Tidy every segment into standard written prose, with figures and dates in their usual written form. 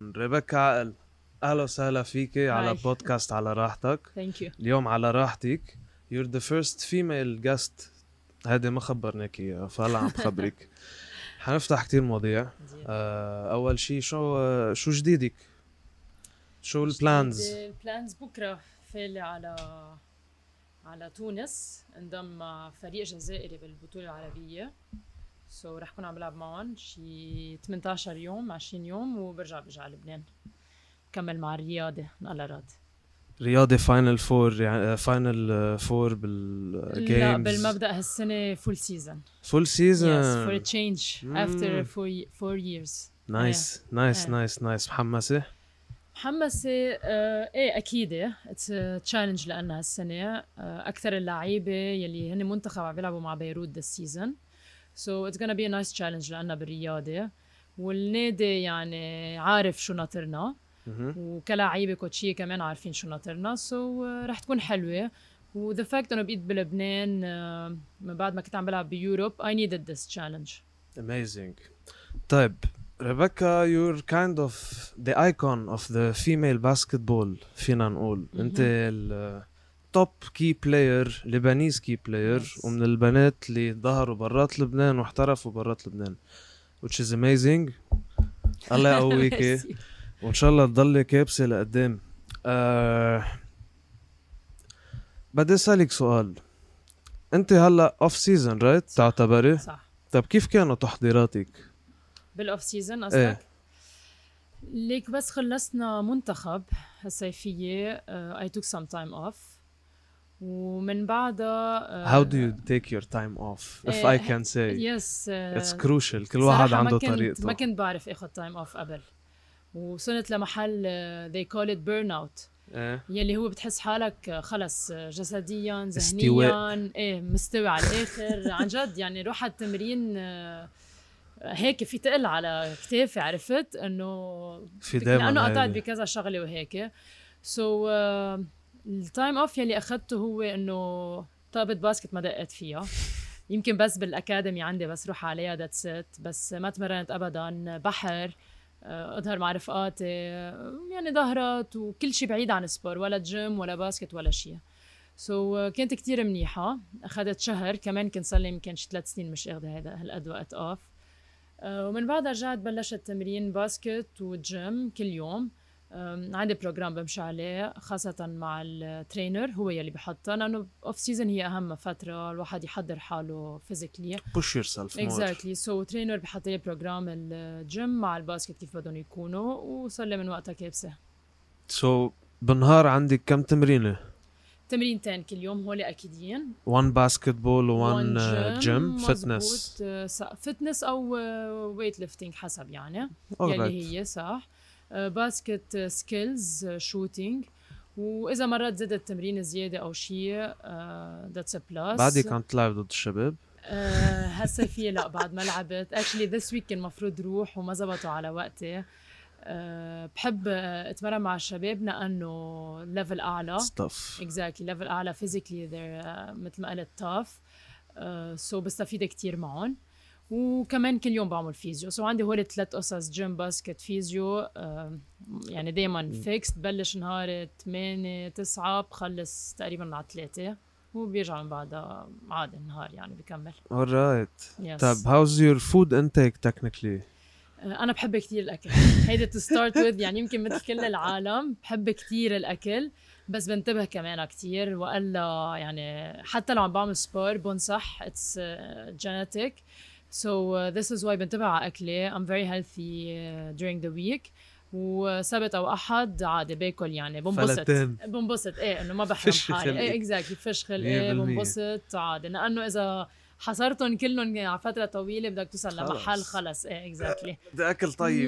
ريبيكا عقل، اهلا وسهلا فيكي على Hi. بودكاست على راحتك. Thank you. اليوم على راحتك. You're the first female guest. هذه ما خبرناك اياها فهلا عم بخبرك. حنفتح كتير مواضيع. اول شي شو جديدك؟ شو البلانز؟ البلانز بكره فالي على تونس، انضم مع فريق جزائري بالبطوله العربيه. رح كون عم بلعب معهم شي 18 يوم 20 يوم وبرجع على لبنان كمل مع الرياضه على راد. رياضي فاينل فور، يعني فاينل فور بالجيمز؟ لا، بالمبدأ هالسنه فول سيزون. فول سيزون. Yes, for a change after 4 years. نايس. محمسة؟ ايه اكيد اتس تشالنج لنا هالسنه. اكثر اللعيبه يلي هن منتخب عم بيلعبوا مع بيروت ذا سيزون، سو اتس غانا بي ا نايس تشالنج لنا بالرياضه. والنادي يعني عارف شو ناطرنا، وكلاعيبه كوتشيه كمان عارفين شو ناطرنا، رح تكون حلوه. وذا فاكت انه بقيت بلبنان من بعد ما كنت عم بلعب بيوروب I needed this challenge. Amazing. طيب Rebecca, you're kind of the icon of the female basketball. فينا نقول انت التوب كي بلاير، لبنانيز كي بلاير، ومن البنات اللي ظهروا برات لبنان واحترفوا برات لبنان، which is amazing. الله يقويكي وان شاء الله تضلي كابسة لقدام. بدي اسالك سؤال. انت هلا اوف سيزون رايت تعتبري؟ صح. طب كيف كانوا تحضيراتك بالاوف سيزون قصدك؟ ليك بس خلصنا منتخب الصيفية I took some time off، ومن بعدها how do you take your time off if I can say? yes, it's crucial. كل واحد عنده طريقته. ما كنت بعرف اخذ time off قبل، وصلت لمحل they call it burnout، يلي هو بتحس حالك خلص جسديا ذهنيا مستوي على الاخر. عن جد يعني روح التمرين هيك في تقل على كتافي، عرفت انه لانه قطعت بكذا شغله وهيك. التايم اوف يلي اخذته هو انه طابة باسكت ما دقت فيها، يمكن بس بالاكاديمي عندي بس روح عليها ذاتس ات، بس ما تمرنت ابدا. بحر، اظهر مع رفقاتي، يعني ظهرات وكل شيء بعيد عن السبور، ولا جيم ولا باسكت ولا شيء. كانت كتير منيحه. اخذت شهر كمان، كنت صار لي يمكن 3 سنين مش اخذ هالقد وقت اوف. ومن بعدها رجعت بلشت تمرين باسكت وجيم كل يوم. عندي بروجرام بمشي عليه خاصة مع الترينر، هو يلي بحطه، لأنه أوف سيزن هي أهم فترة الواحد يحضر حاله فيزيكلي. push yourself more. exactly. ترينر بحط لي بروجرام الجيم مع الباسكت كيف بدهم يكونوا، وصار لي من وقتها كابسة. بالنهار عندك كم تمرينة؟ تمرينتين كل يوم، هولي أكيدين. one basketball و one gym fitness. فتنس أو ويت ليفتينج حسب يعني يلي هي صح. باسكت سكيلز شوتينج، واذا مرات زدت تمرين زياده او شيء ذاتس ا بلس. بعدي كنت تلعب ضد الشباب هالصيفيه لا بعد ما لعبت. اكشلي ذس ويك كان المفروض روح وما زبطوا على وقتي. بحب اتمرن مع الشباب لانه ليفل اعلى. اكزاكتلي ليفل اعلى فيزيكلي مثل ما قلت تاف. بستفيد كتير معهم. وكمان كل يوم بعمل فيزيو. عندي هول 3 قصص: جيم، باسكت، فيزيو. يعني دايما فيكست. بلش نهار 8-9 بخلص تقريبا على 3 وبيرجع من بعدها عادي النهار يعني بكمل. alright. yes. طب how's your food intake technically؟ أنا بحب كتير الأكل. هيدا to start with. يعني يمكن مثل كل العالم بحب كتير الأكل، بس بنتبه كمان كتير، وإلا يعني حتى لو عم بعمل سبور بنصح it's genetic. This is why بنتبه على أكلي. I'm very healthy during the week. وسبت أو أحد عادي باكل، يعني بنبسط إنه ما بحرم حالي. exactly فش خلق بنبسط عادي، لأنه إذا حصرتهم كلهم على فترة طويلة بدك توصل لمحل خلص. exactly بدي أكل طيب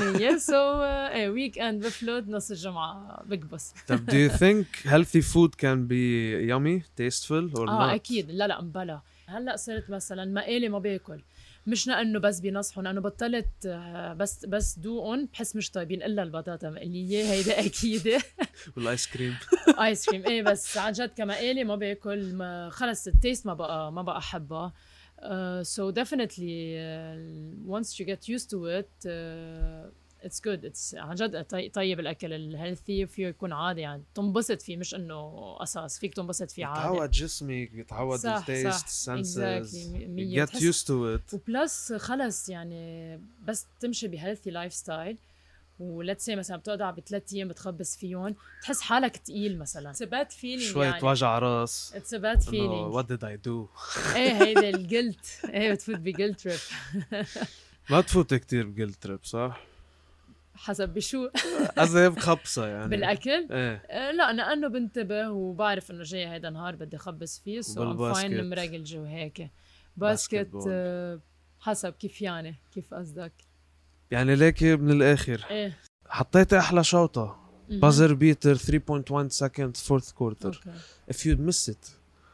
100%. week end بفلت نص الجمعة بكبس. طب do you think healthy food can be yummy, tasteful or not؟ أكيد. لا مبلا. هلأ صرت مثلا مقالي ما باكل، مش لأنه بس بينصحوا، لأنه بطلت بس دوقن بحس مش طيبين إلا البطاطا مقلية. هيدا أكيد. والآيس كريم. آيس كريم بس عن جد كمقالي ما باكل. خلص التيست ما بقى أحبها. So definitely once you get used to it اتس جود، اتس عن جد طيب الاكل الهيلثي فيه يكون عادي يعني تنبسط فيه، مش انه قصص فيك تنبسط فيه عادي. يتعود جسمك، يتعود صح التيست صح السنسز، exactly. get used to it. وبلس خلص يعني بس تمشي بهيلثي لايف ستايل وليتس سي مثلا بتقعد ب3 ايام بتخبص فيهم، تحس حالك تقيل مثلا. It's a bad feeling شوية يعني. وجع راس. It's a bad feeling. what did I do. ايه هيدا الجلت، ايه بتفوت بجلت تريب. ما تفوت كتير بجلت تريب صح؟ حسب بشو. أزيب خبصة يعني بالاكل؟ ايه لا لانه بنتبه وبعرف انه جاي هيدا نهار بدي اخبص فيه، سو فاين مرقلجه وهيك. باسكت حسب كيف يعني، كيف قصدك يعني ليك من الاخر. ايه حطيت احلى شوطة بازر بيتر 3.1 seconds fourth quarter. If you'd miss it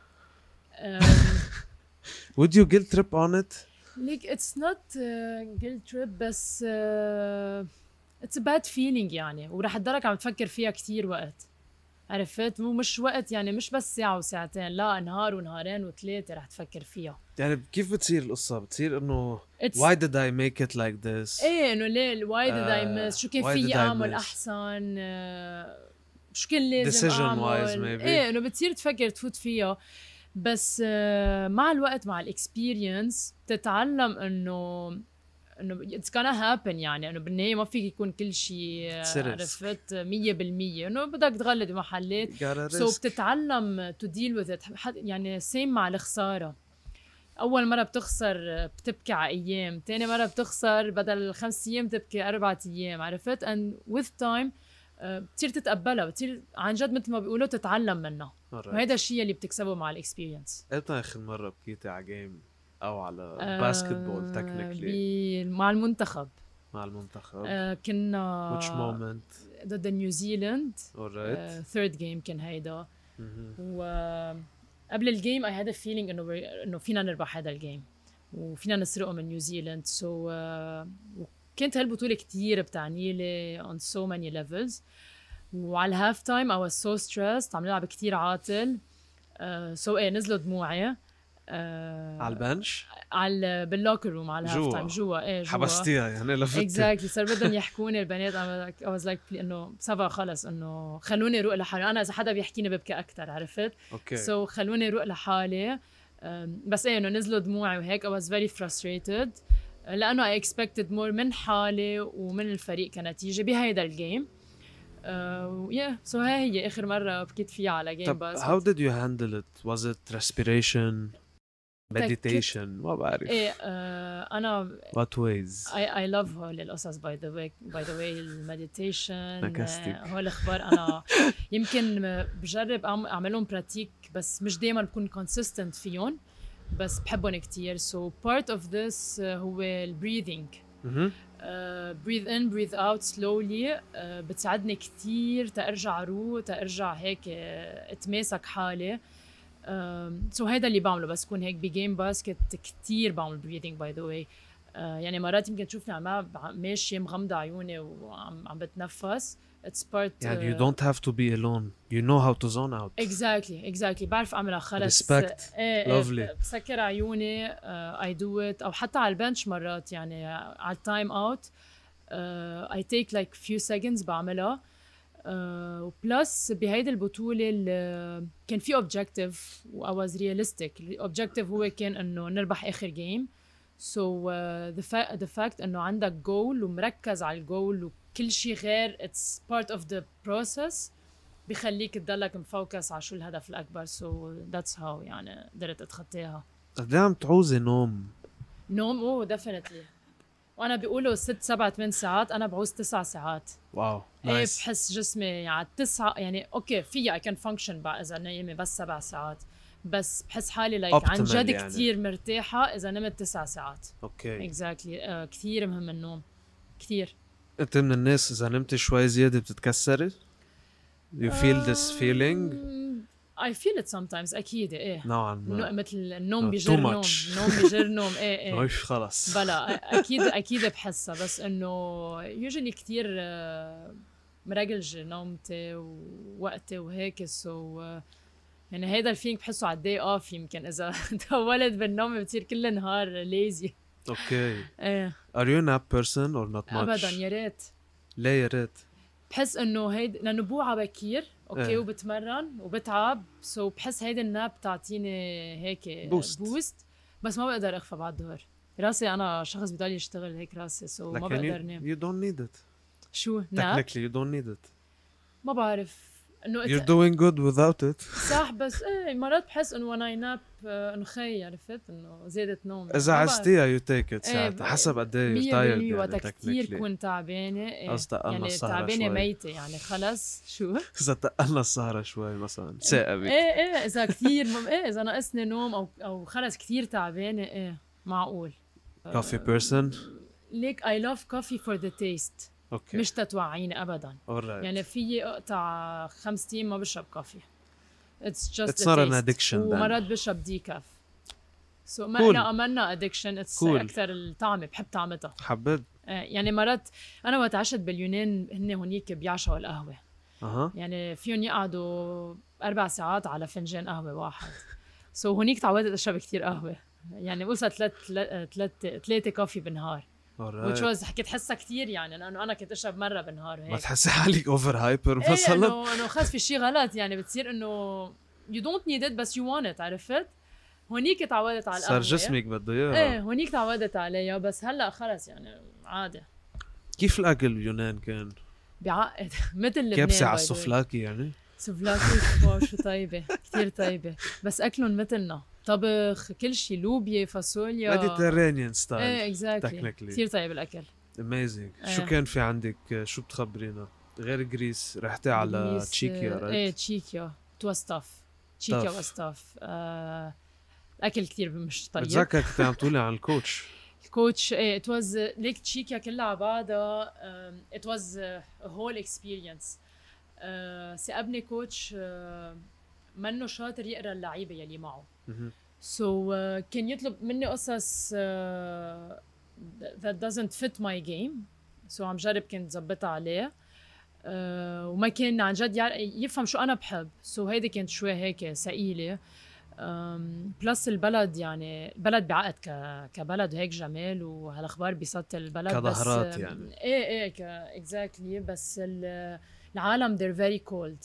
would you guilt trip on it? Like it's not guilt trip بس it's a bad feeling يعني، ورح تضلك عم تفكر فيها كتير وقت، عرفت؟ مش وقت يعني، مش بس ساعة وساعتين، لا نهار ونهارين و3 رح تفكر فيها. يعني كيف بتصير القصة؟ بتصير انه why did I make it like this؟ ايه انه ليه why did I miss، شو كان فيي اعمل احسن، شو كان لازم اعمل. ايه انه بتصير تفكر تفوت فيها، بس مع الوقت مع الاكسبيرينس بتتعلم انه it's gonna happen يعني، انه بالنهايه ما فيك يكون كل شيء عرفت 100%، انه بدك تغلط بمحلات، سو بتتعلم to deal with it. يعني سيم مع الخساره، اول مره بتخسر بتبكي على ايام، تاني مره بتخسر بدل 5 ايام تبكي 4 ايام، عرفت؟ and with time بتصير تتقبلها، بتصير عن جد مثل ما بيقولوا تتعلم منها، وهذا الشيء اللي بتكسبه مع الاكسبيرينس. امتى اخر مره بكيتي على جيم او على باسكتبول تكنيكلي؟ مع المنتخب. كنا which moment؟ ضد نيوزيلند. third game كان هيدا. وقبل الجيم I had a feeling انه فينا نربح هذا الجيم وفينا نسرقه من نيوزيلند. كانت هالبطولة كتير بتعني لي on so many levels. وعلى الهاف تايم I was so stressed، عم نلعب كتير عاطل. نزلوا دموعي على البنش، باللوكر روم على الهاف تايم جوا. حبستيها يعني لفتي. exactly. صار بدهم يحكوني البنات، I was like انه سبا خلص، انه خلوني روق لحالي، انا اذا حدا بيحكيني ببكي اكثر، عرفت؟ خلوني روق لحالي. بس انه نزلوا دموعي وهيك. I was very frustrated لانه I expected more من حالي ومن الفريق كنتيجه بهيدا الجيم. so هي اخر مره بكيت فيها على جيم. بس how did you handle it? was it respiration, meditation؟ ما بعرف. انا what ways I love هول القصص by the way المديتيشن هول الاخبار. انا يمكن بجرب اعملهم براتيك بس مش دايما بكون consistent فيهم، بس بحبهم كتير. so part of this هو breathing. breathe in breathe out slowly. بتساعدني كتير تأرجع روح، تأرجع هيك اتماسك حالي. هيدا اللي بعمله بس كون هيك بجيم باسكت. كتير بعمل breathing by the way. يعني مرات يمكن تشوفني عم ماشي مغمضة عيوني وعم بتنفس. it's part يعني you don't have to be alone, you know how to zone out. exactly بعرف اعملها خلص. respect. lovely. بسكر عيوني I do it. او حتى على البنش مرات يعني على التايم اوت I take like few seconds بعملها. وبلس بهيدي البطولة كان في objective و I was realistic. الobjective هو كان انه نربح اخر جيم. the fact انه عندك goal ومركز على الجول وكل شيء غير it's part of the process بيخليك تضلك مفوكس على شو الهدف الأكبر. that's how يعني قدرت أتخطيها. قد ايه عم تعوزي نوم؟ definitely. وأنا بيقولوا 6 7 8 ساعات، أنا بعوز 9 ساعات. واو نايس. بحس جسمي يعني 9 يعني أوكي فيها I can function بقى إذا نايمة بس 7 ساعات، بس بحس حالي عن جد يعني. كتير مرتاحة إذا نمت 9 ساعات. اوكي exactly. كتير مهم النوم كتير. أنت من الناس إذا نمت شوي زيادة بتتكسري؟ You feel this feeling؟ I feel it sometimes. أكيد نوعا ما. مثل النوم بيجر نوم. بيجر نوم. مش خلص. بلا أكيد بحسها، بس إنه usually كتير مرقلجة نومتي ووقتي وهيك. يعني هيدا الفيلينج بحسه على الداي اوف. يمكن إذا طولت بالنوم بتصير كل نهار lazy. اوكي. Are you a nap person or not much؟ ابدا. يا ريت ليه يا ريت؟ بحس انه هيد لانه بوعى بكير اوكي إيه. وبتمرن وبتعب بحس هيدي الناب بتعطيني هيك بوست بس ما بقدر اخفى بعد الظهر. راسي انا شخص بضل يشتغل هيك راسي ما بقدر نام. you don't need it. شو ناب؟ technically you don't need it. ما بعرف انه you're doing good without it. صح بس ايه مرات بحس انه when I nap انه خي عرفت انه زادت نوم. اذا عزتيها you take it ساعتها ايه حسب قد ايه you're tired يعني وقتها كتير كنت تعبانه ايه يعني تعبانه ميته يعني خلص شو اذا تقلنا السهره شوي مثلا ثاقبك ايه اذا كتير اذا ناقصني نوم او خلص كتير تعبانه ايه معقول. coffee person ليك I love coffee for the taste. اوكي مش تتوعيني ابدا. alright. يعني فيي اقطع 5 ايام ما بشرب كافي. It's just it's not an addiction ومرات بشرب ديكاف. ما cool. أنا أمنا addiction. It's cool. أكثر الطعمة بحب طعمتها. حبيت يعني مرات أنا وقت عشت باليونان هن هونيك بيعشوا القهوة. يعني فيهم يقعدوا 4 ساعات على فنجان قهوة واحد. هونيك تعودت أشرب كتير قهوة. يعني وصلت 3 كافي بالنهار. which was حكيت حسها كتير يعني لأنه أنا كنت أشرب مرة بالنهار وهيك. ما تحسي حالك اوفر هايبر مثلا؟ إنه خلص في شيء غلط يعني بتصير إنه you don't need it بس you want it عرفت؟ هونيك تعودت على القهوة. صار جسمك بده اياها. ايه هونيك تعودت عليها بس هلا خلص يعني عادي. كيف الاكل باليونان كان؟ بيعقد مثل لبنان. كبسة على السوفلاكي يعني؟ سوفلاكي واو شو طيبة كتير طيبة بس أكلهم مثلنا طبخ كل شيء لوبيا فاصوليا ميديترينيان ستايل. ايه اكزاكتلي كتير طيب الأكل. اميزنج. شو كان في عندك شو بتخبرينا غير جريس؟ رحتي على تشيكيا رايت؟ ايه تشيكيا توستاف تشيكيا وستاف اكل كتير مش طيب. بتذكر كنت عم تقولي عن الكوتش. الكوتش ايه it was ليك تشيكيا كلها على بعضها it was a whole experience. سأبني كوتش منه شاطر يقرا اللعيبه يلي معه. كان يطلب مني قصص that doesn't fit my game. عم جرب كنت زبطها عليه وما كان عن جد يفهم شو انا بحب. هيدي كانت شوي هيك ثقيله. بلس البلد يعني البلد بعقد كبلد هيك جمال وهالاخبار بيسطل البلد كظهرات بس يعني ايه اكزاكتلي بس العالم they're very cold.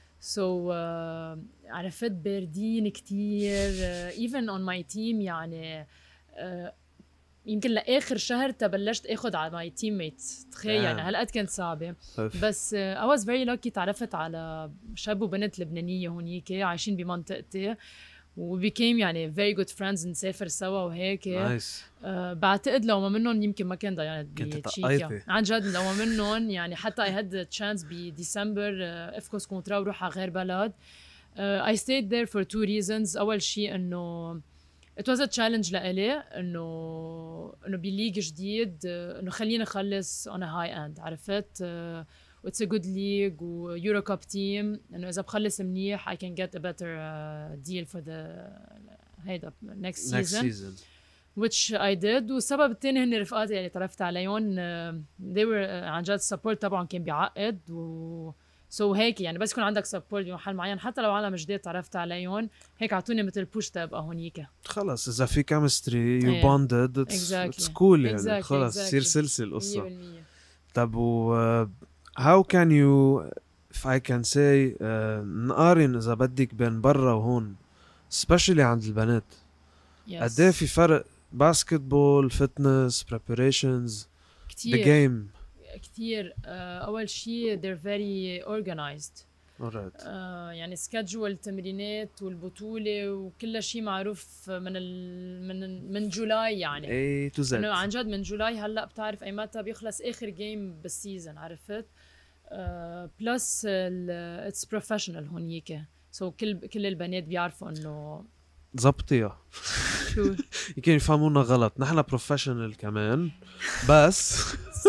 عرفت باردين كتير even on my team يعني يمكن لاخر شهر تبلشت اخذ على ماي تيم ميتس. تخيل يعني هالقد كانت صعبه بس I was very lucky تعرفت على شاب وبنت لبنانيه هونيك عايشين بمنطقتي و became يعني very good friends نسافر سوا وهيك. بعتقد لو ما منهم يمكن ما كان ضيعت بتشيكيا عن جد. لو ما منهم يعني حتى I had the chance بديسمبر افكس كونترا وروح على غير بلد. I stayed there for 2 reasons. أول شيء إنه it was a challenge لإلي إنه بليج جديد إنه خلينا نخلص on a high end عرفت. it's a good league و Euro Cup team إنه إذا بخلص منيح I can get a better deal for the هيدا next season which I did. والسبب الثاني هن رفقاتي اللي تعرفت عليهم they were عن جد support طبعا كان بيعقد هيك يعني بس يكون عندك سبورت بمحل معين حتى لو عالم جديد تعرفت عليهم هيك عطوني مثل بوش تبقى هونيك. خلص اذا في كيمستري يو بوندد it's cool يعني خلص تصير سلسله القصه. طب how can you if I can say نقارن اذا بدك بين برا وهون especially عند البنات قد ايه في فرق باسكتبول فتنس preparations كتير the game؟ كتير. أول شيء they're very organized. يعني schedule تمرينات والبطولة وكل شيء معروف من جولاي يعني. A to Z. إنه عن جد من جولاي هلا بتعرف أي متى بيخلص آخر جيم بالسيزن عرفت. بلس it's professional هونيك. كل البنات بيعرفوا إنه زبطيها. شو يمكن يفهمونا غلط نحن بروفيشنال كمان بس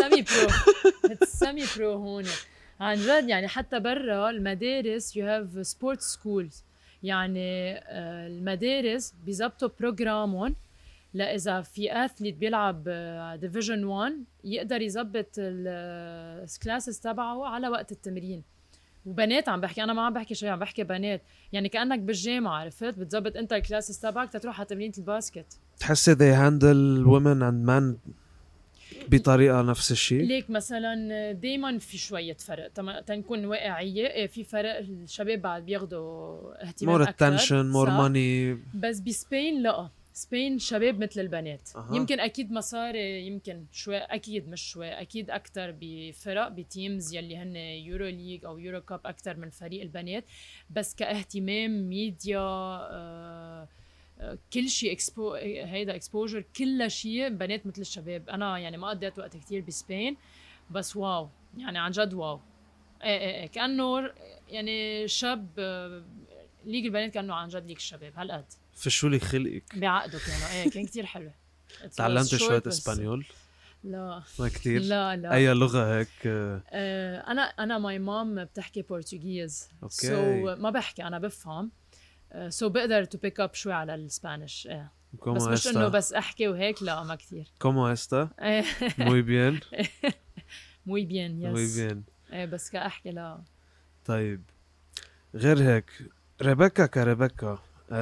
سامي برو هون عن جد يعني. حتى برا المدارس you have sports schools يعني المدارس بيزبطوا بروجرامهم لإذا في أثليت بيلعب ديفيجن 1 يقدر يزبط الكلاسز تبعه على وقت التمرين. وبنات عم بحكي انا ما عم بحكي شيء عم بحكي بنات يعني كأنك بالجامعة عرفت بتزبط انت الكلاسز تبعك تروح على تمرينة الباسكت. تحسي they handle women and men بطريقه نفس الشيء؟ ليك مثلا دايما في شويه فرق تنكون واقعيه. في فرق، الشباب بعد بياخدوا اهتمام مور اكثر، اتنشن، مور ماني. بس بسبين لا، سبين شباب مثل البنات. أها. يمكن اكيد مصاري، يمكن شوي، اكيد مش شوي، اكيد اكثر بفرق بتيمز يلي هن يورو ليج او يورو كاب اكثر من فريق البنات. بس كاهتمام ميديا كل شيء هيدا اكسبوجر، كل شيء بنات مثل الشباب. انا يعني ما قضيت وقت كتير بسبين، بس واو يعني عن جد واو. ايه كانه يعني شاب ليج البنات كانه عن جد ليج الشباب هالقد. فشوا لي خلقك بعقده كانوا كان كتير حلو. تعلمت شوية اسبانيول؟ لا ما كتير. لا اي لغة هيك؟ انا ماي مام بتحكي بورتوغيز، اوكي. ما بحكي، انا بفهم. بقدر تو بيك اب شوي على الاسبانيش. بس مش انه بس احكي وهيك، لا ما كتير. كومو استا؟ موي بيان. موي بيان، يس. موي بيان. بس كاحكي لا. طيب غير هيك، ريبيكا كريبيكا،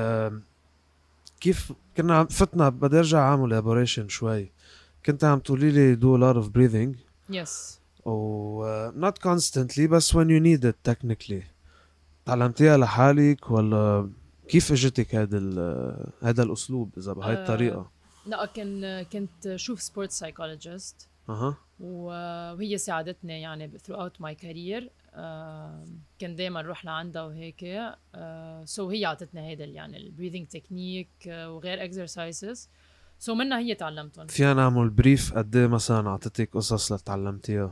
كيف كنا فتنا، بدي ارجع اعمل elaboration شوي. كنت عم تقولي لي do a lot of breathing. يس. not constantly بس when you need it technically. تعلمتيها لحالك ولا كيف اجتك هذا الاسلوب اذا بهاي الطريقه؟ لا كنت شوف سبورت سايكولوجيست. وهي ساعدتني يعني throughout my career. كنت دايما اروح لعندها وهيك. هي عطتني هيدا يعني البريذنج تكنيك وغير اكسرسايزز. منها هي تعلمتهم. فينا نعمل بريف قد ايه مثلا عطتك قصص لتعلمتيها؟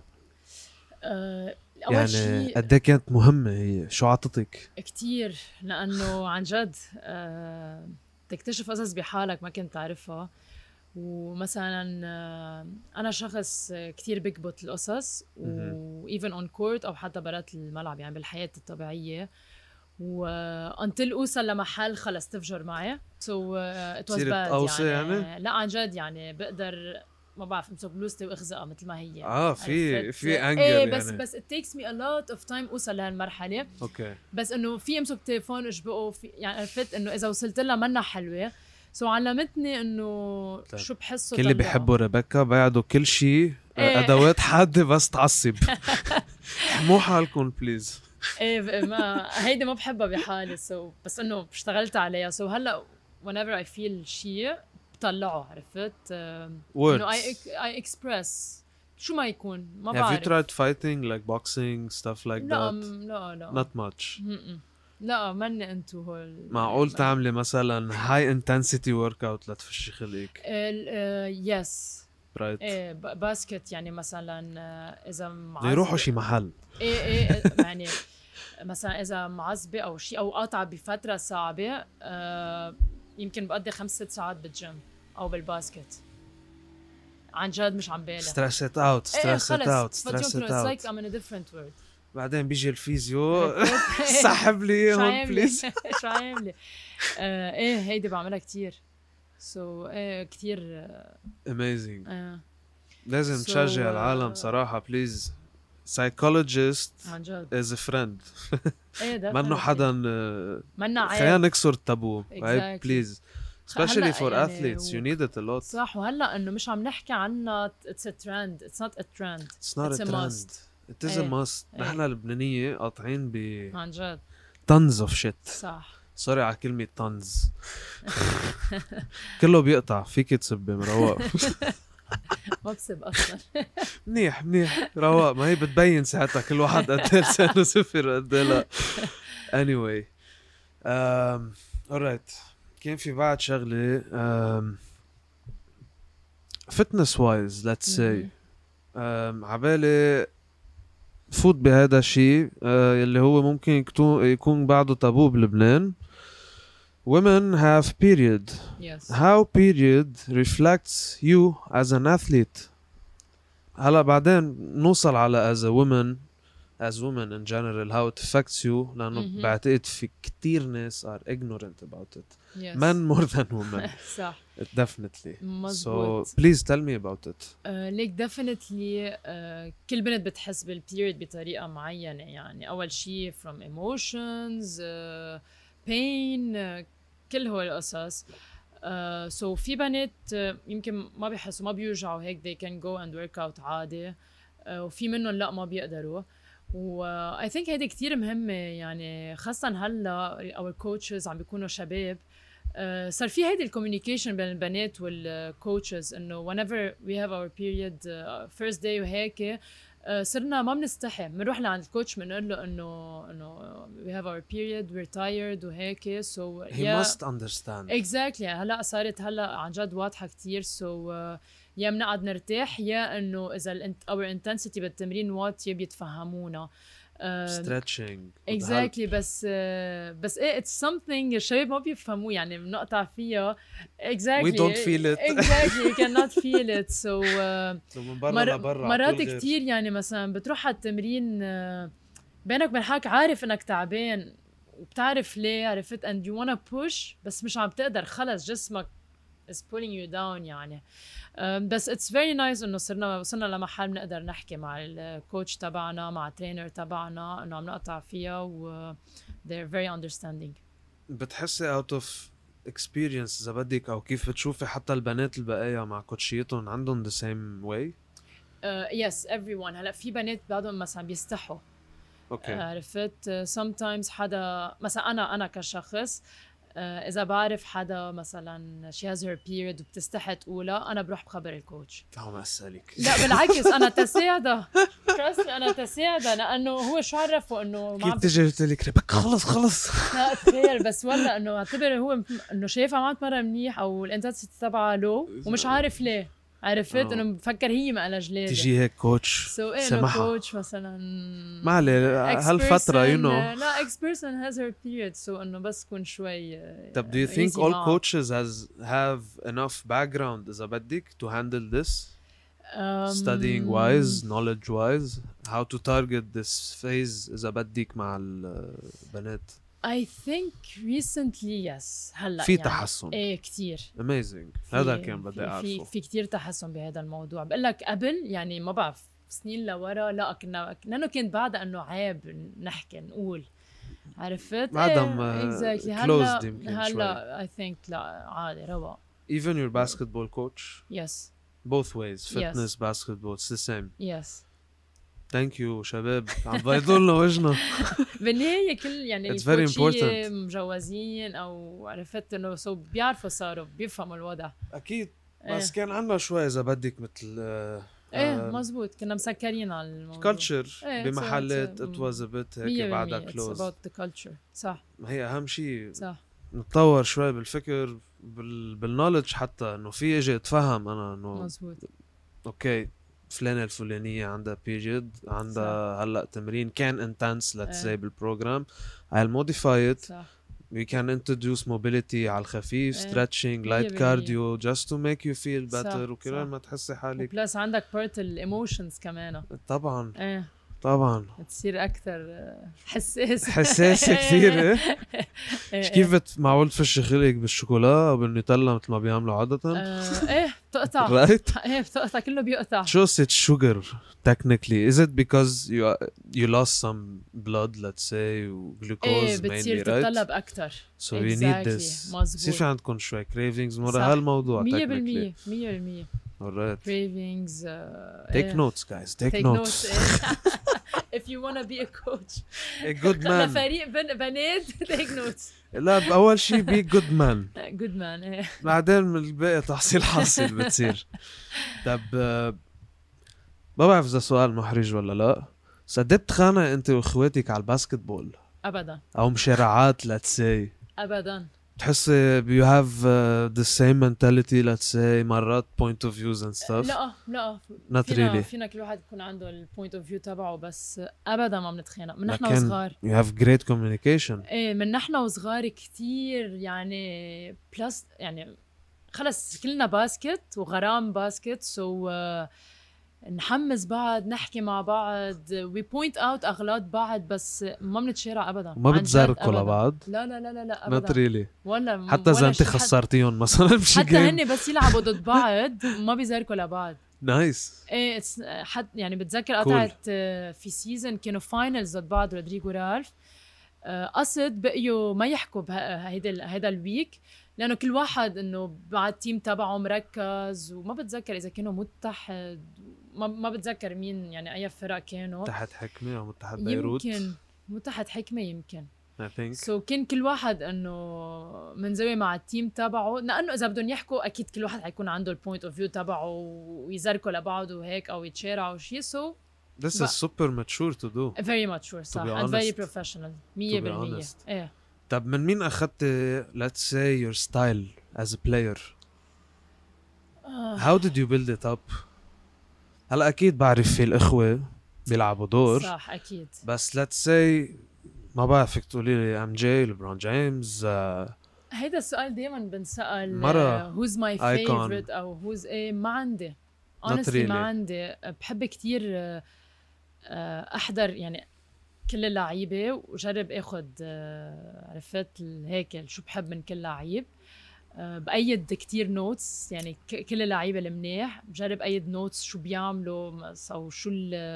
يعني قد ايه كانت مهمه هي؟ شو عطتك؟ كتير، لانه عن جد تكتشف قصص بحالك ما كنت تعرفها. ومثلا انا شخص كتير بكبت القصص، وايفن اون كورت او حتى برات الملعب يعني بالحياه الطبيعيه. وانتل اوصل لمحل خلص تفجر معي. ات واز باد يعني. لا عن جد يعني بقدر ما بعرف امسك بلوزتي واخزقها مثل ما هي. في انجر يعني. بس it takes me a lot of time اوصل لهالمرحله. اوكي. بس انه في امسك تليفون اجبقه يعني عرفت انه اذا وصلت لها منا حلوه. علمتني انه شو بحسه. كل اللي بيحبوا ريبيكا بيعدوا كل شيء ادوات حاده بس تعصب. مو حالكم بليز. ما هيدي ما بحبها بحالي. بس انه اشتغلت عليها. هلا whenever I feel شيء بطلعه، عرفت؟ انه I express شو ما يكون. ما بعرف. Have you tried fighting like boxing stuff like that? لا not much. لا ماني انتو هول. معقول تعملي مثلا high intensity workout لتفشي خلقك؟ يس. رايت. باسكت يعني مثلا اذا معصبه يروحوا شي محل. يعني مثلا اذا معصبه او شيء او قاطعه بفتره صعبه، يمكن بقضي 5-6 ساعات بالجيم او بالباسكت. عن جد مش عم بالغ. stress it out. It's like I'm in a different world. بعدين بيجي الفيزيو سحب لي هون بليز. شو عامله؟ هيدي بعملها كتير. كتير amazing. لازم تشجع العالم صراحة بليز. psychologist عن جد is a friend. منه حدا خلينا نكسر التابو. بليز especially for athletes you need it a lot. صح. وهلا انه مش عم نحكي عنها it's a trend. It's not a trend. It's not a trend. It is a must. نحن اللبنانية قاطعين عن جد tons of shit. صح. سوري على كلمة tons. كله بيقطع. فيك تسبي مروق. ما بسب اصلا. منيح رواق. ما هي بتبين ساعتها كل واحد قد ايه لسانه صفر قد ايه لا. anyway alright. كان في بعد شغلة fitness wise let's say. عبالي فوت بهذا الشيء اللي هو ممكن يكون بعده تابو بلبنان. Women have period. Yes. How period reflects you as an athlete. هلا بعدين نوصل على as women in general how it affects you. لأنه بعتقد في كتير ناس are ignorant about it. Yes. Men more than women. صح. Definitely. مزبوط. So please tell me about it. ليك definitely كل بنت بتحس بالبيريد بطريقة معينة. يعني أول شيء from emotions pain كل هول القصص. سو في بنات يمكن ما بيحسوا ما بيوجعوا هيك they can go and work out عادي. وفي منهم لا ما بيقدروا. و I think هيدي كتير مهمة يعني خاصة هلا our coaches عم بيكونوا شباب. صار في هيدي الكوميونيكيشن بين البنات والكوتشز انه whenever we have our period first day وهيك صرنا ما بنستحي بنروح لعند الكوتش بنقول له انه we have our period we're tired وهيك so he must understand exactly. هلا صارت هلا عن جد واضحه كتير so يا بنقعد نرتاح يا انه اذا our intensity بالتمرين واطيه بيتفهمونا stretching exactly. بس ايه it's something الشباب ما بيفهموه يعني بنقطع فيها exactly we don't feel it exactly you cannot feel it so من برا لبرا مرات كتير يعني مثلا بتروح على التمرين بينك وبين حالك عارف انك تعبان وبتعرف ليه عرفت and you wanna push بس مش عم تقدر خلص جسمك is pulling you down يعني. بس it's very nice انه وصلنا لمحل بنقدر نحكي مع الكوتش تبعنا مع الترينر تبعنا انه عم نقطع فيها و they're very understanding. بتحسي out of experience اذا بدك او كيف بتشوفي حتى البنات البقايا مع كوتشيتهم عندهم the same way؟ yes everyone. هلا في بنات بعضهم مثلا بيستحوا عرفت sometimes حدا مثلا انا كشخص إذا بعرف حدا مثلا she has her period وبتستحي تقولها أنا بروح بخبر الكوتش. تعال أسألك. لا بالعكس أنا تساعدها trust me أنا تساعدها لأنه هو شو عرفه إنه كيف تجي قلت لك ريبكا خلص لا تخيل بس ولا إنه اعتبر هو إنه شايفها ما تمرن منيح أو الانتنسيتي تبعها لو ومش عارف ليه عرفت انه بفكر هي ما لها جلاد تجي هيك كوتش سمحها كوتش مثلا ما عليه هالفتره لا ex person has her period so انه بس كون شوي طب do you think all coaches have enough background اذا بدك to handle this studying wise knowledge wise how to target this phase اذا بدك مع البنات؟ I think recently yes هلا في يعني تحسن ايه كتير amazing هذا كان بدي اعرفه في كتير تحسن بهذا الموضوع. بقول لك قبل يعني ما بعرف سنين لورا لا كنا لانه كنت بعدها انه عيب نحكي نقول عرفت عدم exactly. هلا I think لا عادي رواق. even your basketball coach yes both ways fitness basketball it's the same yes ثانك يو شباب عم بيضوا لنا وجهنا بالنهايه كل يعني الكوتشيه مجوزين او عرفت انه سو بيعرفوا صاروا بيفهموا الوضع اكيد بس كان عندنا شوي اذا بدك مثل مزبوط كنا مسكرين على الموضوع كلتشر بمحلات it was a bit هيك بعدها كلوز it's about the culture صح هي اهم شيء صح نتطور شوي بالفكر بالنولج حتى انه في اجي اتفهم انا انه مزبوط اوكي فلانة الفلانية عندها بيريود عندها هلا تمرين كان intense let's say بالبروجرام I'll modify it صح. we can introduce mobility على الخفيف stretching light cardio just to make you feel better وكرمال ما تحسي حالك بلس عندك part الايموشنز كمان طبعا طبعا تصير اكثر حساسه كثير كيف معقول تفشي خلقك بالشوكولا او بالنوتيلا مثل ما بيعملوا عاده؟ بتقطع رايت بتقطع كله بيقطع. شو it's sugar technically is it because you lost some blood let's say glucose mainly بتصير تتطلب اكثر so you need this بصير في عندكم شوي cravings مرة هالموضوع 100% alright cravings take notes guys take notes if you want to be a coach a good man فريق بنات take notes لا أول شيء be good man good man بعدين من الباقي تحصيل حاصل بتصير. طب ما بعرف إذا سؤال محرج ولا لا بس قد بتخانق أنت وإخواتك على الباسكتبول؟ أبدا. أو مشارعات let's say؟ أبدا. تحسي you have the same mentality let's say مرات point of views and stuff؟ لا not really. فينا كل واحد يكون عنده ال point of view تبعه بس أبدا ما بنتخانق من نحن وصغار. you have great communication. من نحن وصغار كتير يعني plus يعني خلص كلنا باسكت وغرام باسكت so نحمس بعض نحكي مع بعض we point out أغلاط بعض بس ما بنتشارع أبدا. ما بتزاركوا لبعض؟ لا أبدا. not really. ولا حتى إذا أنت خسرتيهم مثلا بشي حتى هن بس يلعبوا ضد بعض ما بيزاركوا لبعض. نايس. ايه يعني بتذكر قطعت في سيزن كانوا فاينلز ضد بعض رودريغو رالف قصد بقيوا ما يحكوا هيدا الويك لانه كل واحد انه مع التيم تبعه مركز، وما بتذكر اذا كانوا متحد، ما بتذكر مين يعني اي فرق كانوا. متحد حكمه او متحد بيروت، يمكن متحد حكمه يمكن. I think. سو كان كل واحد انه منزوي مع التيم تبعه، لانه اذا بدهم يحكوا اكيد كل واحد حيكون عنده البوينت اوف فيو تبعه ويزركوا لبعض وهيك او يتشارعوا شيء. سو This is super mature to do. very mature صح and very professional 100%. ايه. طب من مين اخذت let's say your style as a player? How did you build it up? هلا اكيد بعرف في الاخوه بيلعبوا دور صح اكيد، بس let's say ما بعرفك تقولي لي ام جي ليبرون جيمس. هيدا السؤال دايما بنسأل مرة who's my favorite او who's ايه. ما عندي honestly really. ما عندي. بحب كتير احضر يعني كل اللعيبه وجرب اخد عرفت هيك شو بحب من كل لعيب. بأيد كتير نوتس يعني كل اللعيبه المنيح بجرب أيد نوتس شو بيعملوا او شو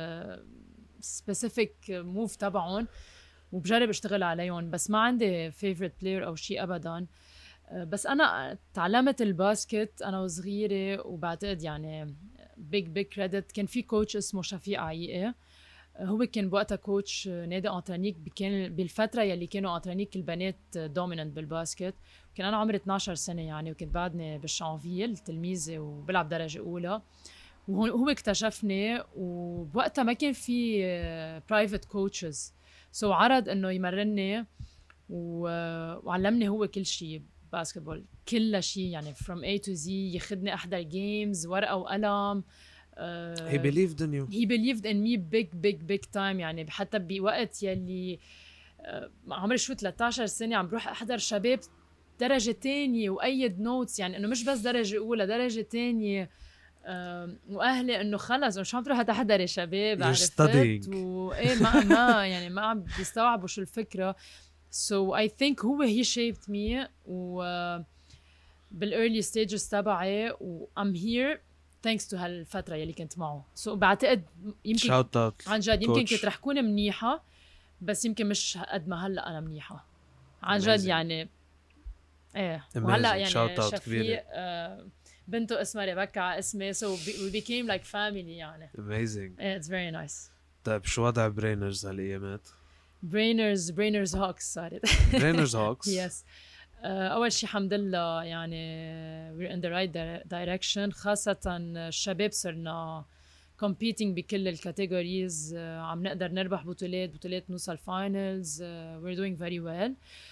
السبيسيفيك موف تبعهم وبجرب اشتغل عليهم. بس ما عندي favorite player او شيء ابدا. بس انا تعلمت الباسكت انا وصغيره، وبعتقد يعني big credit كان في كوتش اسمه شفيق عيقي. هو كان بوقتها كوتش نادي انطرانيك، كان بالفتره يلي كانوا انطرانيك البنات دوميننت بالباسكت. كان انا عمري 12 سنه يعني، وكنت بعدني بالشانفيل تلميذه وبلعب درجه اولى، وهو اكتشفني. وبوقتها ما كان في برايفت كوتشز، سو عرض انه يمرني وعلمني هو كل شيء باسكتبول، كل شيء يعني from A to Z. ياخذني احضر جيمز ورقه وقلم. he believed in you. he believed in me big time يعني. حتى بوقت يلي عمري شو 13 سنه عم بروح احضر شباب درجه تانية وايد نوتس، يعني انه مش بس درجه اولى درجه تانية. واهلي انه خلص شو عم تروح تحضري شباب عرفت وايه ما يعني ما عم بيستوعبوا شو الفكره. so I think هو he shaped me و بالايرلي ستيجز تبعي و I'm here thanks to هالفتره يلي كنت معه. so بعتقد يمكن عن جد يمكن كنت رح كون منيحه، بس يمكن مش قد ما هلا انا منيحه عن جد يعني. ايه وهلا يعني شفيق بنته اسمها ريبكا على اسمي، so we became like family يعني. amazing. yeah, it's very nice. طيب شو وضع برينرز هالايامات؟ برينرز هوكس صارت. برينرز هوكس yes. اول شيء الحمد لله يعني we're in the right direction، خاصه الشباب صرنا competing بكل الكاتيجوريز. عم نقدر نربح بطولات نوصل فاينلز. we're doing very well.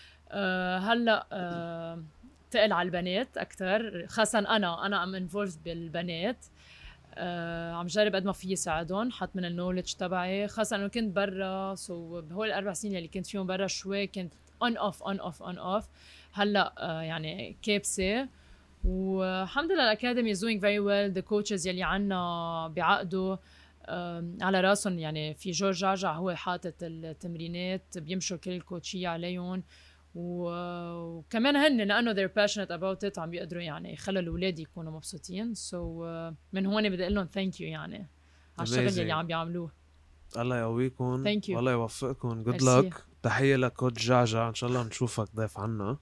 هلا تقل على البنات اكثر، خاصه انا ام involved بالبنات. عم جرب قد ما في ساعدهم، حط من النولج تبعي، خاصه انه كنت برا. سو بهول الاربع سنين اللي كنت فيهم برا شوي كنت on off. هلا يعني كابسه، والحمد لله الاكاديمي is doing very well. the coaches يلي عنا بعقدوا على راسهم يعني. في جورج جعجع هو حاطط التمرينات، بيمشوا كل الكوتشيه عليهم، وكمان هن لانه they're passionate about it عم بيقدروا يعني يخلوا الاولاد يكونوا مبسوطين. من هون بدي اقول لهم ثانك يو يعني على الشغل اللي عم بيعملوه. الله يقويكم والله يوفقكم. good Merci. luck. تحيه لكوتش جعجع، ان شاء الله نشوفك ضيف عنا.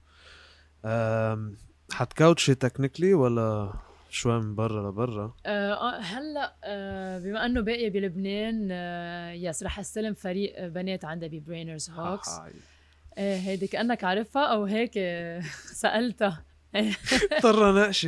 حتكوتشي تكنيكلي ولا شوي من برا لبرا؟ هلا بما انه باقي بلبنان يس رح استلم فريق بنات عندها ببرينرز هوكس. هيدي كأنك عارفها أو هيك سألتها. اضطر ناقشي.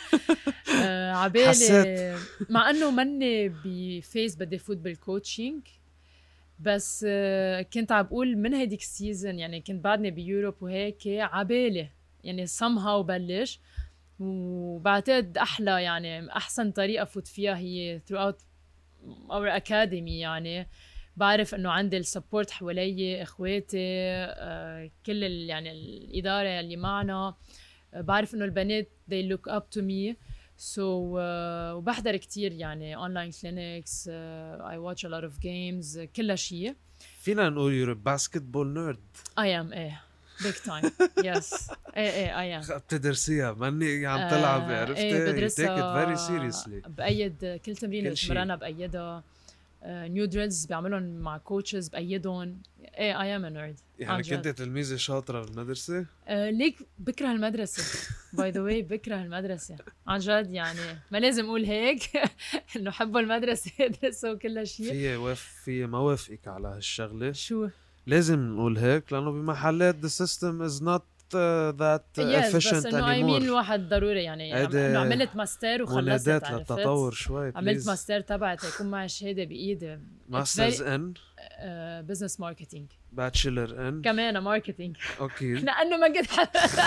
عبالي مع أنه مني بفيس بدي فوت بالكوتشينج، بس كنت عم بقول من هيديك السيزن يعني كنت بعدني بيوروب وهيك عبالي يعني somehow بلش. وبعتقد أحلى يعني أحسن طريقة فوت فيها هي throughout our academy يعني. بعرف انه عندي السبورت حوالي اخواتي كل يعني الاداره اللي معنا. بعرف انه البنات they look up to me. so وبحضر كتير يعني online clinics. I watch a lot of games. كل شيء فينا نقول you're a basketball nerd. I am big time. yes I am. بتدرسيها ماني عم تلعب عرفتي. بدرسها take it very seriously. بأيد كل تمرين بتمرنها بأيدها. نيو دريلز بعملهم مع كوتشز بأيدهم. ايه I am a nerd يعني كنت تلميذة شاطرة بالمدرسة؟ ليك بكره المدرسة باي ذا واي، بكره المدرسة عن جد، يعني ما لازم اقول هيك انه حبوا المدرسة يدرسوا كل شيء. في ما وافقك على هالشغلة. شو لازم نقول هيك لأنه بمحلات the system is not that efficient بس انه I mean anymore. الواحد ضروري يعني انه عملت ماستر وخلصت، منادات عرفت للتطور شوي عملت please. ماستر تبعت يكون معي شهادة بإيدي ماسترز ان بزنس ماركتينج، باتشلر ان كمان ماركتينج اوكي. لأنه ما قد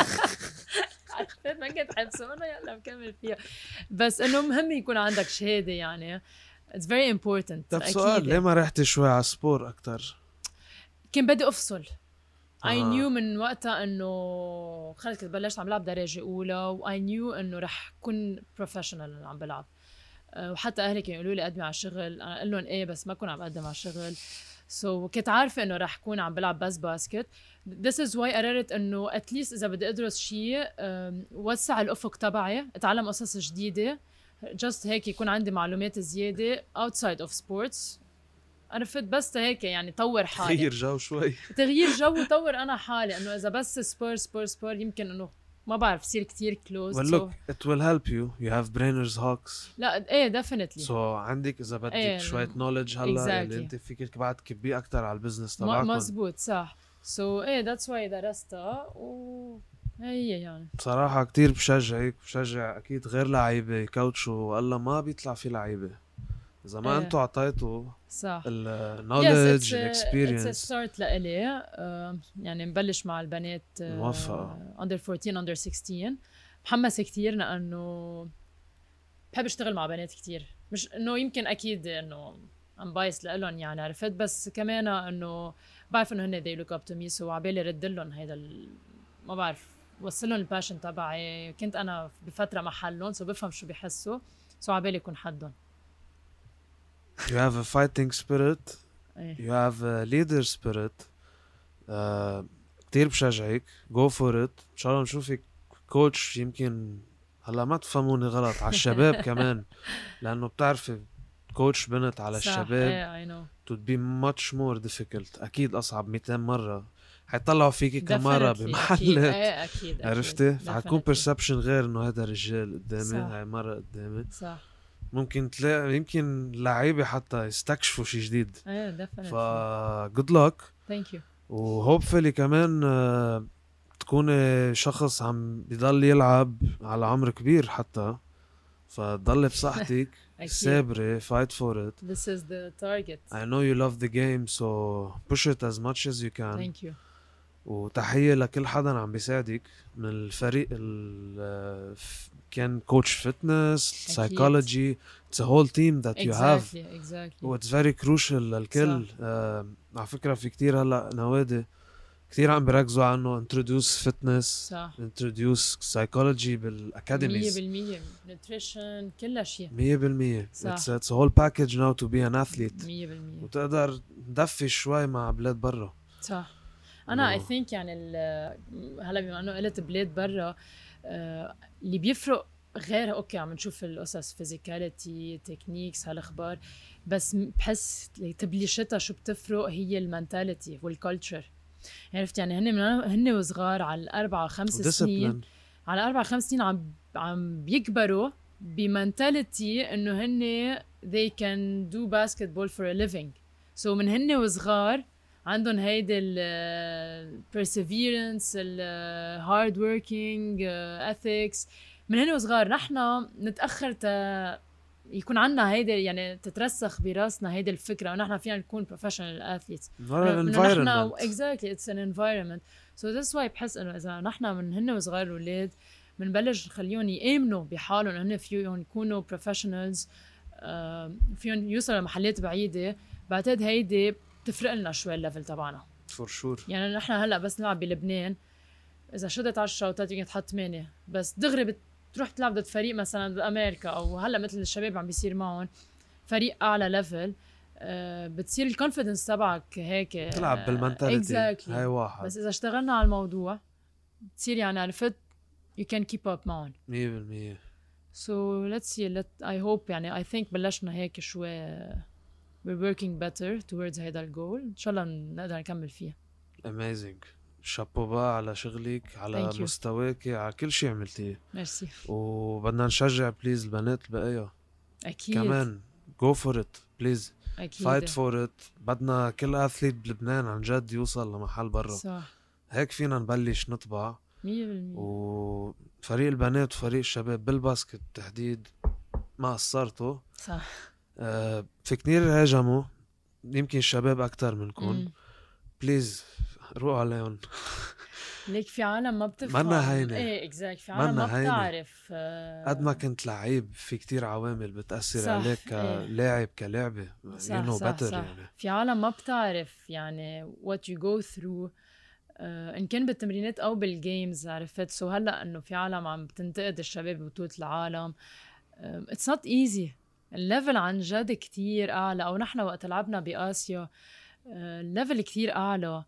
عرفت ما قد حبسه انه يلا مكمل فيها، بس انه مهم يكون عندك شهادة يعني it's very important. طب سؤال، ليه ما رحتي شوي على سبور أكتر؟ كان بدي أفصل. I knew من وقتها انه خلص بلشت عم بلعب درجة أولى و I knew انه رح كون professional عم بلعب. وحتى أهلي كانوا يقولوا لي قدمي على الشغل، أنا قل لهم إيه بس ما كون عم بقدم على الشغل. كنت عارفة إنه رح كون عم بلعب بس باسكت. This is why قررت إنه at least إذا بدي أدرس شيء وسع الأفق تبعي، أتعلم قصص جديدة، just هيك يكون عندي معلومات زيادة outside of sports. عرفت بس هيك يعني طور حالي، تغيير جو شوي. تغيير جو وطور أنا حالي، إنه إذا بس سبور يمكن إنه ما بعرف صير كتير close. Well look, it will help you. You have brainers hawks. لا إيه definitely. So عندك إذا بدك إيه شوية knowledge هلا اللي أنت فيك بعد تكبيه أكتر على البزنس تبعكم. مزبوط صح. إيه that's why درستها هي يعني. بصراحة كتير بشجع أكيد غير لعيبة كوتشو والله ما بيطلع في لعيبة إذا ما أنتوا عطيتوا صح النوليدج الاكسبيرينس. it's a start لإلي. يعني نبلش مع البنات موفقة. under 14 under 16 محمسة كتير لأنه بحب اشتغل مع بنات كتير، مش إنه يمكن أكيد إنه I'm biased لإلهم يعني عرفت، بس كمان إنه بعرف إنه هن they look up to me so عبالي رد لهم هيدا ما بعرف وصلهم الباشن تبعي، كنت أنا بفترة محلهم so بفهم شو بيحسوا so عبالي يكون حدهم. You have a fighting spirit. You have a leader spirit. كتير بشجعك. Go for it. إن شاء الله نشوفك كوتش. يمكن هلا ما تفهموني غلط على الشباب كمان لأنه بتعرفي كوتش بنت على الشباب I know. it would be much more difficult. أكيد أصعب 200 مرة. حيطلعوا فيكي كمرة بمحلات. أكيد عرفتي؟ فحتكون perception غير إنه هذا رجال قدامي هاي مرة قدامي. صح. ممكن تلاقي يمكن لعيبة حتى يستكشفوا شيء جديد. definitely. good luck. Thank you. وهوبفلي كمان تكوني شخص عم بيضل يلعب على عمر كبير حتى فتضلي بصحتك سابرة fight for it. This is the target. I know you love the game so push it as much as you can. Thank you. وتحية لكل حدا عم بيساعدك من الفريق كان كوتش فتنس سايكولوجي it's a whole team that you have. Exactly. و it's very crucial للكل. على فكرة في كتير هلا نوادي كتير عم بيركزوا على انه introduce fitness صح. introduce psychology بالاكاديميز 100% nutrition كل شيء 100%. it's a whole package now to be an athlete 100%. وتقدر تدفي شوي مع بلاد برا. صح. انا I think يعني هلا بما انه قلت بلاد برا اللي بيفرق غير اوكي عم نشوف القصص فيزيكاليتي تكنيكس هالاخبار، بس بحس تبليشتها شو بتفرق هي المنتاليتي والكالتشر. عرفت يعني هن وصغار على 4-5 سنين على 4-5 سنين عم بيكبروا بمنتاليتي انه هن they can do basketball for a living. so من هن وصغار عندهم هيدي ال perseverance ال hard working ethics من هن وصغار. نحن نتأخر يكون عنا هيدي يعني تترسخ براسنا هيدي الفكرة ونحن فينا نكون professional athletes. environment. Exactly it's an environment. so that's why بحس انه اذا نحن من هن وصغار الأولاد بنبلش نخليهم يآمنوا بحالهم هن فيهم يكونوا professionals فيهم يوصلوا لمحلات بعيدة، بعتقد هيدي تفرق لنا شوي الليفل تبعنا for sure. يعني نحن هلا بس نلعب بلبنان اذا شدت 10 شوطات يمكن تحط 8 بس دغري تروح تلعب ضد فريق مثلا بامريكا او هلا مثل الشباب عم بيصير معهم فريق اعلى ليفل بتصير الكونفيدنس تبعك هيك تلعب بالمنتاليتي exactly. هاي واحد بس اذا اشتغلنا على الموضوع بتصير يعني عرفت you can keep up معهم 100%. so let's see I hope يعني I think بلشنا هيك شوي we're working better towards هيدا الجول. إن شاء الله نقدر نكمل فيها. amazing. شابو بقى على شغلك، على Thank you. مستواك، على كل شيء عملتيه. ميرسي. وبدنا نشجع بليز البنات البقية أكيد كمان. go for it بليز. أكيد fight for it. بدنا كل اثليت بلبنان عن جد يوصل لمحل برا. صح هيك فينا نبلش نطبع. 100%. وفريق البنات وفريق الشباب بالباسكت تحديد ما قصرتوا. صح. في كتير هاجموا، يمكن الشباب أكتر منكم. بليز روقوا عليهم. ليك في عالم ما بتفهم. منا هينة. ايه اكزاكت. في عالم ما بتعرف. قد ما كنت لعيب في كتير عوامل بتأثر صح. عليك كلاعب كلعبة. صح you know صح better صح. يعني. في عالم ما بتعرف يعني what you go through إن كان بالتمرينات أو بالجيمز. عرفت؟ سو هلأ إنه في عالم عم بتنتقد الشباب ببطولة العالم. it's not easy. الليفل عن جد كتير أعلى. أو نحن وقت لعبنا بآسيا الليفل كتير أعلى.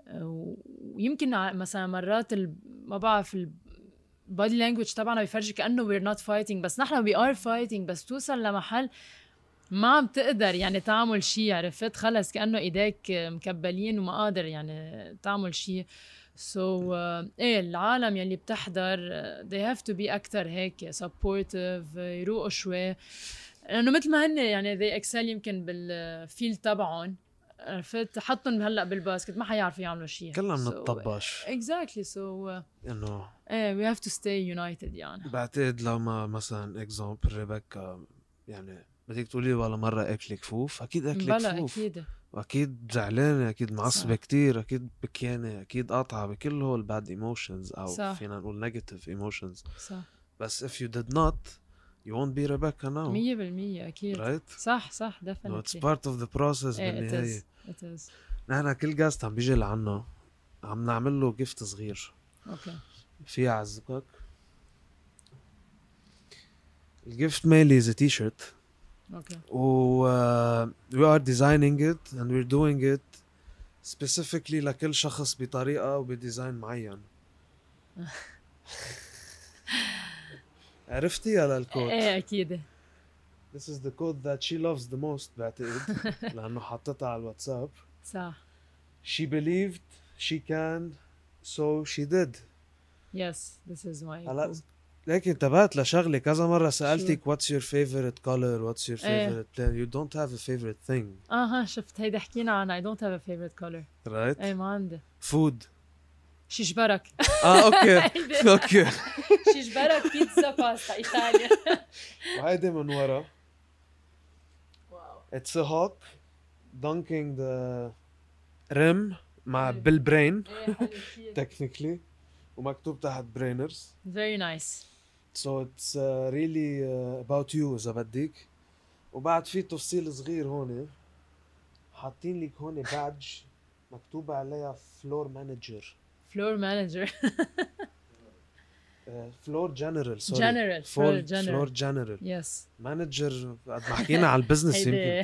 ويمكن مثلا مرات ما بعرف البادي لانجويج تبعنا بيفرجي كأنه we're not fighting، بس نحن we are fighting. بس توصل لمحل ما عم تقدر يعني تعمل شيء. عرفت؟ خلص كأنه ايديك مكبلين وما قادر يعني تعمل شيء. ايه العالم يلي بتحضر they have to be أكتر هيك supportive، يروقوا شوي، لأنه مثل ما هن يعني they excel يمكن بالفيل تبعهم. عرفت؟ حطهم هلا بالباسكت ما حيعرفوا يعملوا شيء. كلنا بنطبش. exactly. so انه we have to stay united يعني. بعتقد لو ما مثلا اكزامبل ريبيكا يعني بدك تقولي ولا مرة اكلي كفوف، اكيد اكلي كفوف. أكيد. واكيد زعلانة، اكيد معصبة كتير، اكيد بكيانة، اكيد قاطعة بكل هول الباد ايموشنز او صح. فينا نقول نيجاتيف ايموشنز. صح. بس if you did not you won't be Rebecca now. 100% أكيد. right. صح صح no, definitely. it's part of the process بالنهاية. it is. نحن كل جاست عم بيجي لعنا عم نعمل له جيفت صغير. اوكي. في عزبك الجيفت ميلي is a t-shirt. اوكي. we are designing it and we're doing it specifically لكل شخص بطريقة وبديزاين معين. عرفتي على الكود؟ ايه اكيد. This is the code that she loves the most بعتقد لأنه حطتها على الواتساب. صح. She believed she can so she did. Yes, this is my هلا ليك انتبهت لشغلة كذا مرة سألتك what's your favorite color, what's your favorite plan. You don't have a favorite thing. شفت هيدا حكينا عنها. I don't have a favorite color. right. ايه ما عندي. food. شيشبرك. اوكي اوكي. شيشبرك بيتزا باستا ايطاليا. وهيدي من ورا it's a hawk dunking the rim مع بالبرين technically ومكتوب تحت brainers. very nice. so it's really about you إذا بدك. وبعد في تفصيل صغير هون حاطين لك هون badge مكتوب عليها floor manager. floor manager. floor general sorry. floor general. yes. manager قد ما حكينا على البزنس يمكن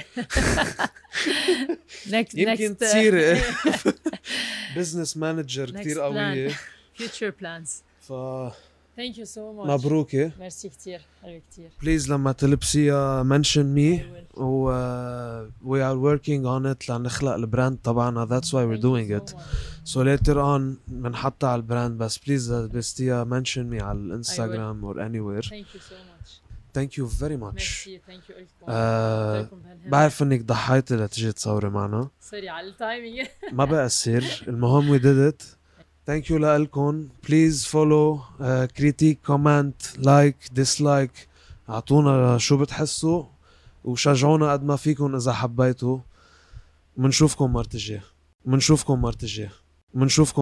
يمكن next تصير business manager كتير قوية. future plans. thank you so much. مبروكة. ميرسي كتير. حلو كتير. please لما تلبسيها mention me و we are working on it لنخلق البراند طبعا. that's why we're doing it. so later on بنحطها على البراند بس please لبستيها mention me على الانستغرام or anywhere. thank you so much. thank you very much. ميرسي. thank you لكم. بعرف انك ضحيتي لتجي تصوري معنا. سوري على التايمينج. ما بقصر المهم we did it. thank you لألكم. please follow critique comment like dislike. اعطونا شو بتحسوا وشجعونا قد ما فيكم اذا حبيتوا. منشوفكم مرة الجاية.